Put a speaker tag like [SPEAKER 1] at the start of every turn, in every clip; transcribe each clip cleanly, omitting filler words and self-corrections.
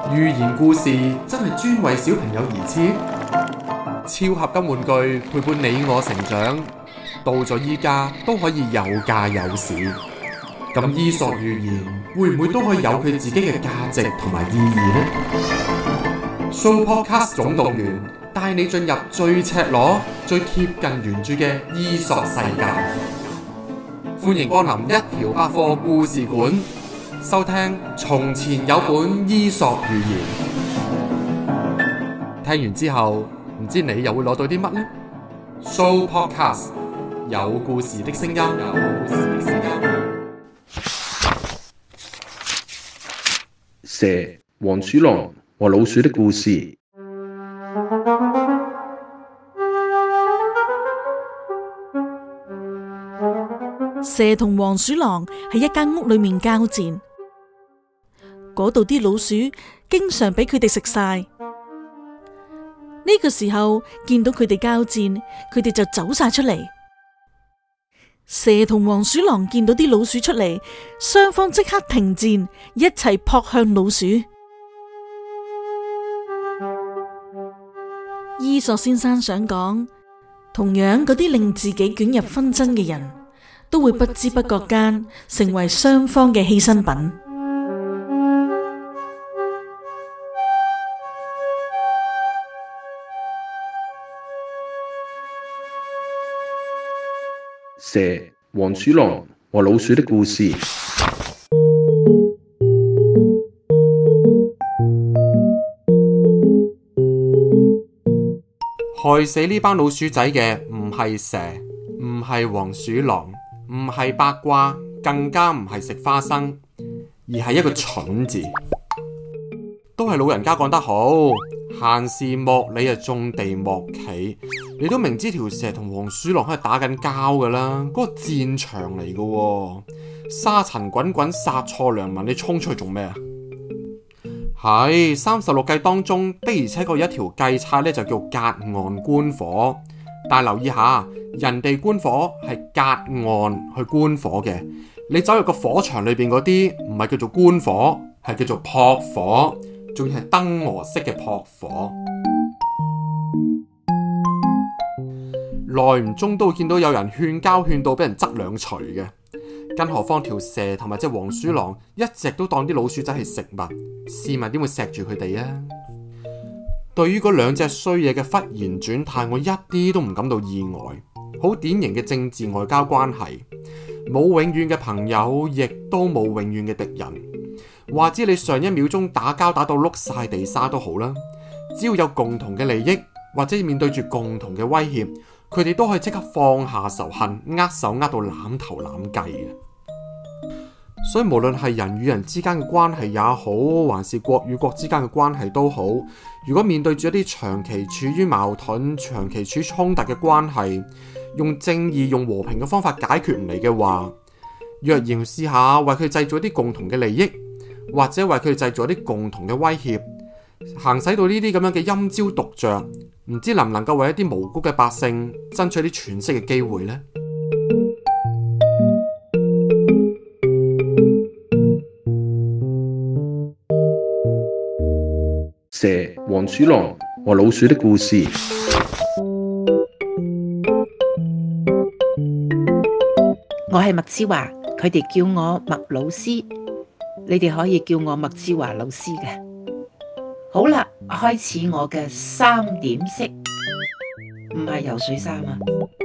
[SPEAKER 1] 寓言故事真係專為小朋友而設，超合金玩具陪伴你我成長，到咗依家都可以有價有市。咁伊索寓言會唔會都可以有佢自己嘅價值同埋意義呢？Sooopodcast 總動員帶你進入最赤裸、最貼近原著嘅伊索世界。歡迎光臨一條百貨故事館，收聽從前有本伊索寓言。聽完之後，唔知你又會攞到啲乜呢？Sooopodcast 有故事的聲音。
[SPEAKER 2] 蛇、黃鼠狼和老鼠的故事。
[SPEAKER 3] 蛇同黃鼠狼喺一間屋裏面交戰，嗰度啲老鼠經常俾佢哋食晒。呢個時候見到佢哋交戰，佢哋就走晒出嚟。蛇同黃鼠狼見到啲老鼠出嚟，雙方即刻停戰，一齊撲向老鼠。伊索先生想講，同樣嗰啲令自己捲入紛爭嘅人，都會不知不覺間成為雙方嘅犧牲品。
[SPEAKER 2] 蛇、黃鼠狼和老鼠的故事。
[SPEAKER 1] 害死呢班老鼠仔嘅唔係蛇，唔係黃鼠狼，唔係八卦，更加唔係食花生，而係一個蠢字。都係老人家講得好，閒事莫理啊，種地莫企。你都明知條蛇同黃鼠狼喺度打緊交噶啦，嗰個戰場嚟噶，沙塵滾滾，殺錯良民，你衝出去做咩啊？係36計當中的而且確有一條計策咧，就叫隔岸觀火。但係留意下，人哋觀火係隔岸去觀火嘅，你走入個火場裏邊嗰啲唔係叫做觀火，係叫做撲火，仲要係燈蛾式嘅撲火。耐唔中都會見到有人勸交勸到俾人側兩錘嘅，更何況條蛇同埋隻黃鼠狼一直都當啲老鼠仔係食物，試問點會錫住佢哋啊？對於嗰兩隻衰嘢嘅忽然轉態，我一啲都唔感到意外。好典型嘅政治外交關係，冇永遠嘅朋友，亦都冇永遠嘅敵人。話知你上一秒鐘打交打到碌晒地沙都好啦，只要有共同嘅利益，或者面對住共同嘅威脅，佢哋都可以即刻放下仇恨，握手握到攬頭攬計嘅。所以無論係人與人之間嘅關係也好，還是國與國之間嘅關係都好，如果面對住一啲長期處於矛盾、長期處於衝突嘅關係，用正義、用和平嘅方法解決唔嚟嘅話，若然試下為佢製造一啲共同嘅利益，或者為佢製造一啲共同嘅威脅，行使到呢啲咁樣嘅陰招毒藥，唔知能唔能夠為一啲無辜嘅百姓爭取啲喘息嘅機會呢？
[SPEAKER 2] 蛇、黃鼠狼和老鼠的故事。
[SPEAKER 4] 我係麥之華，佢哋叫我麥老師，你哋可以叫我麥之華老師嘅。好啦，開始我嘅3點式，唔係游水衫啊。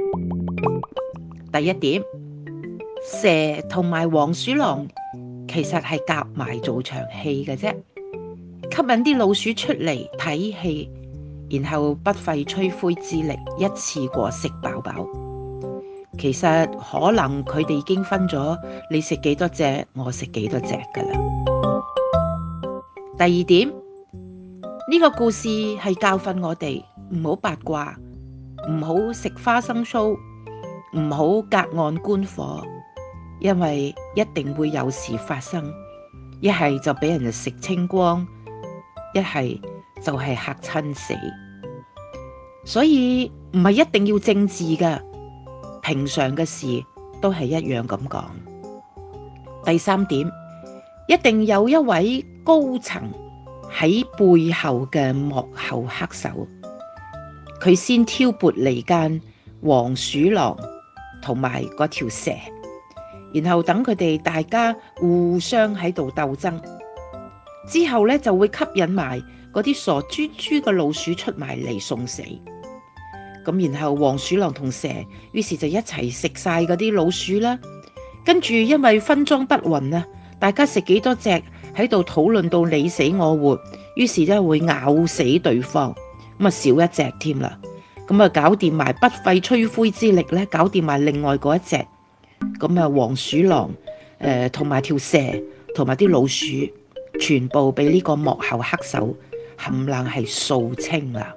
[SPEAKER 4] 第一點，蛇同埋黃鼠狼其實係夾埋做場戲嘅啫，吸引啲老鼠出嚟睇戲，然後不費吹灰之力一次過食飽飽。其實可能佢哋已經分咗你食幾多隻，我食幾多隻噶啦。第二點，呢個故事係教訓我哋唔好八卦，唔好食花生酥，唔好隔岸觀火，因為一定會有事發生，一係就俾人哋食清光，一係就係嚇親死。所以唔係一定要政治噶，平常嘅事都係一樣咁講。第三點，一定有一位高層喺背後嘅幕後黑手，佢先挑撥離間黃鼠狼同埋嗰條蛇，然後等佢哋大家互相喺度鬥爭，之後呢，就會吸引埋嗰啲傻豬豬嘅老鼠出埋嚟送死。咁然後黃鼠狼同蛇於是就一齊食晒嗰啲老鼠啦。跟住因為分贓不勻啊，大家食幾多隻喺度討論到你死我活，於是咧會咬死對方，咁啊少一隻添啦。咁啊搞掂埋不費吹灰之力咧，搞掂埋另外嗰一隻。咁啊黃鼠狼同埋條蛇同埋啲老鼠，全部俾呢個幕後黑手冚唪唥係掃清啦。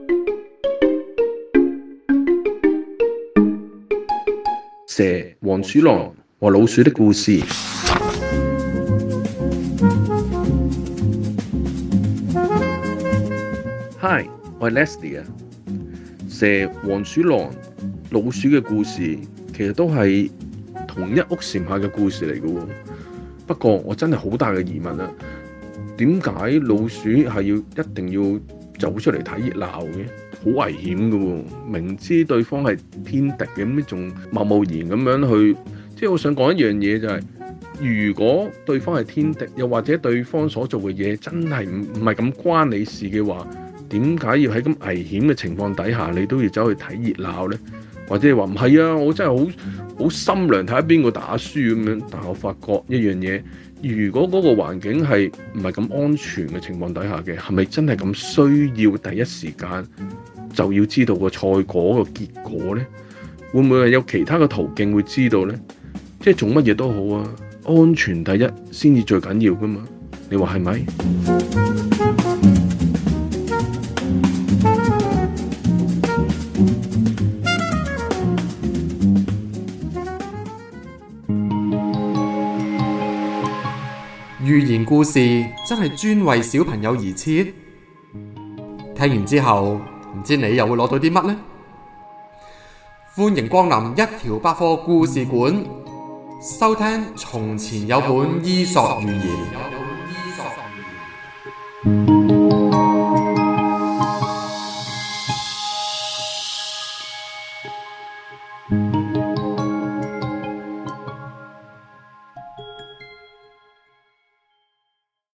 [SPEAKER 2] 蛇、黃鼠狼和老鼠的故事。Hi， 我係 Leslie 啊。蛇、黃鼠狼、老鼠嘅故事其實都係同一屋檐下嘅故事嚟嘅喎。不過我真係好大嘅疑問啊，點解老鼠係要一定要走出嚟睇熱鬧嘅？好危險嘅喎，明知對方係天敵嘅，咁仲貿貿然咁樣去，即係我想講一樣嘢就係，如果對方係天敵，又或者對方所做嘅嘢真係唔係咁關你事嘅話，點解要喺咁危險嘅情況底下，你都要走去睇熱鬧呢？或者係話唔係啊，我真係好心良睇下邊個打輸咁樣，但係我發覺一樣嘢，如果嗰個環境係唔係咁安全嘅情況底下嘅，係咪真係咁需要第一時間就要知道個賽果個結果呢？會唔會係有其他嘅途徑會知道呢？即係做乜嘢都好啊，安全第一先至最緊要噶嘛？你話係咪？
[SPEAKER 1] 寓言故事真係專為小朋友而設，聽完之後唔知你又會攞到啲乜呢？歡迎光臨一條百貨故事館，收聽從前有本伊索寓言。